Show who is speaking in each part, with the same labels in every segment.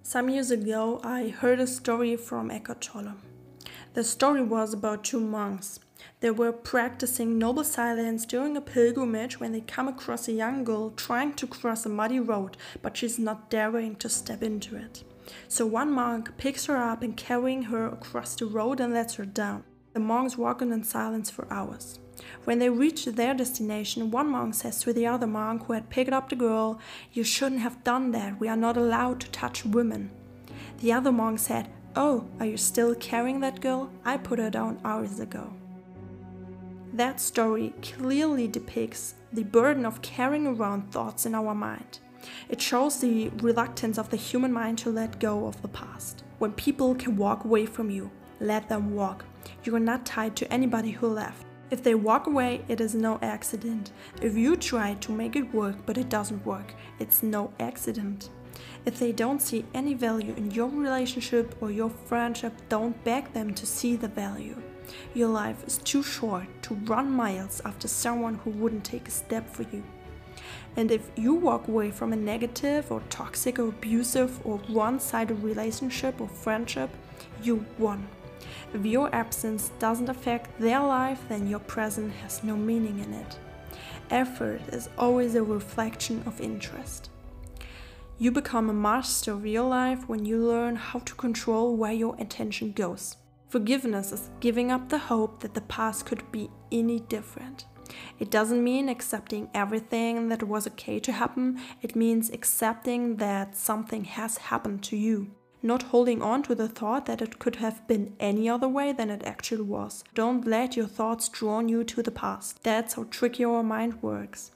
Speaker 1: Some years ago, I heard a story from Eckhart Tolle. The story was about two monks. They were practicing noble silence during a pilgrimage when they come across a young girl trying to cross a muddy road, but she's not daring to step into it. So one monk picks her up and carrying her across the road and lets her down. The monks walk on in silence for hours. When they reach their destination, one monk says to the other monk who had picked up the girl, "You shouldn't have done that, we are not allowed to touch women." The other monk said, "Oh, are you still carrying that girl? I put her down hours ago." That story clearly depicts the burden of carrying around thoughts in our mind. It shows the reluctance of the human mind to let go of the past. When people can walk away from you, let them walk. You are not tied to anybody who left. If they walk away, it is no accident. If you try to make it work but it doesn't work, it's no accident. If they don't see any value in your relationship or your friendship, don't beg them to see the value. Your life is too short to run miles after someone who wouldn't take a step for you. And if you walk away from a negative or toxic or abusive or one-sided relationship or friendship, you won. If your absence doesn't affect their life, then your presence has no meaning in it. Effort is always a reflection of interest. You become a master of your life when you learn how to control where your attention goes. Forgiveness is giving up the hope that the past could be any different. It doesn't mean accepting everything that was okay to happen. It means accepting that something has happened to you. Not holding on to the thought that it could have been any other way than it actually was. Don't let your thoughts draw you to the past. That's how tricky our mind works.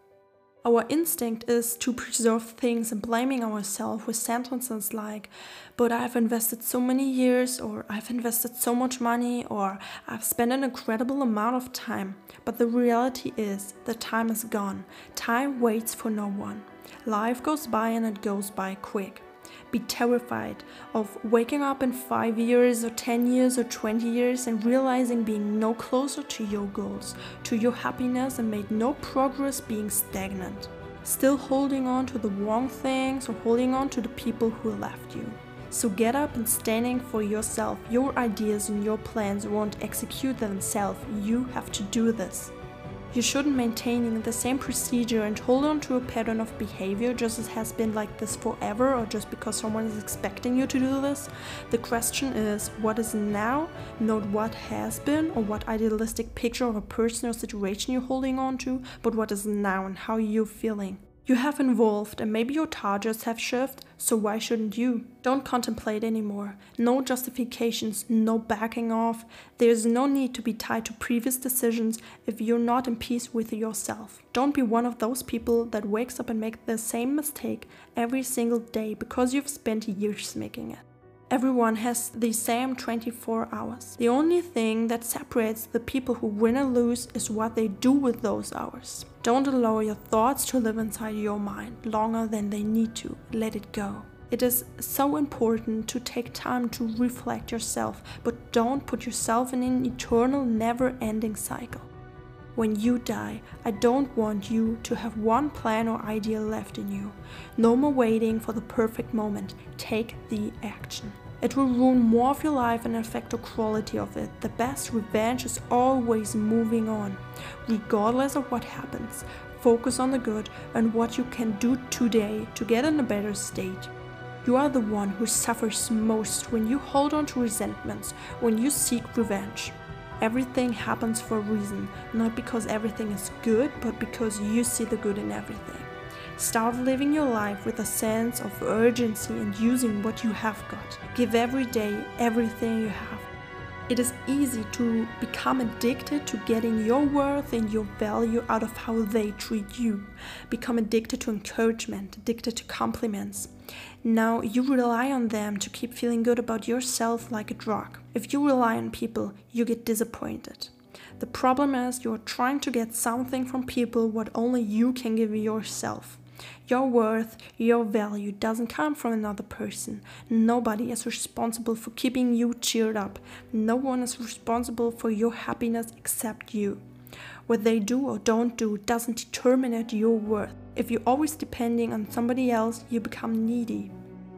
Speaker 1: Our instinct is to preserve things and blaming ourselves with sentences like, "But I've invested so many years," or "I've invested so much money," or "I've spent an incredible amount of time." But the reality is, the time is gone. Time waits for no one. Life goes by and it goes by quick. Be terrified of waking up in 5 years or 10 years or 20 years and realizing being no closer to your goals, to your happiness, and made no progress, being stagnant. Still holding on to the wrong things or holding on to the people who left you. So get up and standing for yourself. Your ideas and your plans won't execute themselves. You have to do this. You shouldn't maintain the same procedure and hold on to a pattern of behavior just as it has been like this forever or just because someone is expecting you to do this. The question is, what is now, not what has been or what idealistic picture of a person or situation you're holding on to, but what is now and how you're feeling. You have evolved and maybe your targets have shifted, so why shouldn't you? Don't contemplate anymore. No justifications, no backing off. There's no need to be tied to previous decisions if you're not in peace with yourself. Don't be one of those people that wakes up and makes the same mistake every single day because you've spent years making it. Everyone has the same 24 hours. The only thing that separates the people who win and lose is what they do with those hours. Don't allow your thoughts to live inside your mind longer than they need to. Let it go. It is so important to take time to reflect yourself, but don't put yourself in an eternal, never-ending cycle. When you die, I don't want you to have one plan or idea left in you. No more waiting for the perfect moment. Take the action. It will ruin more of your life and affect the quality of it. The best revenge is always moving on. Regardless of what happens, focus on the good and what you can do today to get in a better state. You are the one who suffers most when you hold on to resentments, when you seek revenge. Everything happens for a reason, not because everything is good, but because you see the good in everything. Start living your life with a sense of urgency and using what you have got. Give every day everything you have. It is easy to become addicted to getting your worth and your value out of how they treat you. Become addicted to encouragement, addicted to compliments. Now you rely on them to keep feeling good about yourself like a drug. If you rely on people, you get disappointed. The problem is you're trying to get something from people what only you can give yourself. Your worth, your value doesn't come from another person. Nobody is responsible for keeping you cheered up. No one is responsible for your happiness except you. What they do or don't do doesn't determine your worth. If you're always depending on somebody else, you become needy.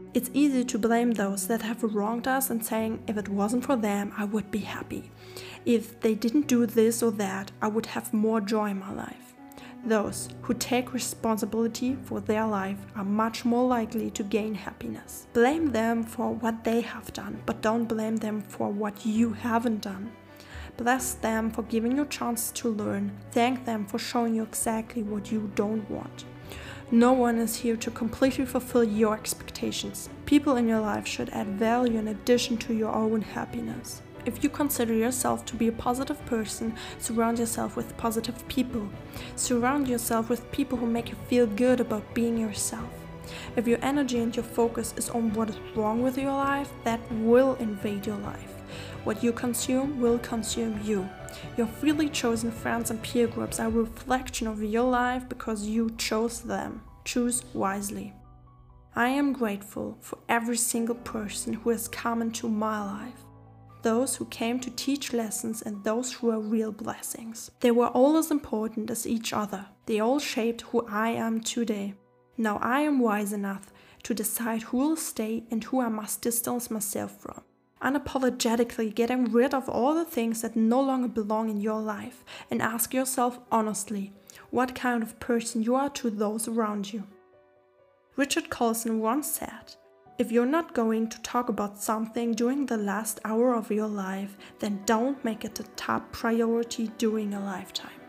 Speaker 1: It's easy to blame those that have wronged us and saying, if it wasn't for them, I would be happy. If they didn't do this or that, I would have more joy in my life. Those who take responsibility for their life are much more likely to gain happiness. Blame them for what they have done, but don't blame them for what you haven't done. Bless them for giving you a chance to learn. Thank them for showing you exactly what you don't want. No one is here to completely fulfill your expectations. People in your life should add value in addition to your own happiness. If you consider yourself to be a positive person, surround yourself with positive people. Surround yourself with people who make you feel good about being yourself. If your energy and your focus is on what is wrong with your life, that will invade your life. What you consume will consume you. Your freely chosen friends and peer groups are a reflection of your life because you chose them. Choose wisely. I am grateful for every single person who has come into my life. Those who came to teach lessons and those who are real blessings. They were all as important as each other. They all shaped who I am today. Now I am wise enough to decide who will stay and who I must distance myself from. Unapologetically getting rid of all the things that no longer belong in your life, and ask yourself honestly what kind of person you are to those around you. Richard Carlson once said, "If you're not going to talk about something during the last hour of your life, then don't make it a top priority during a lifetime."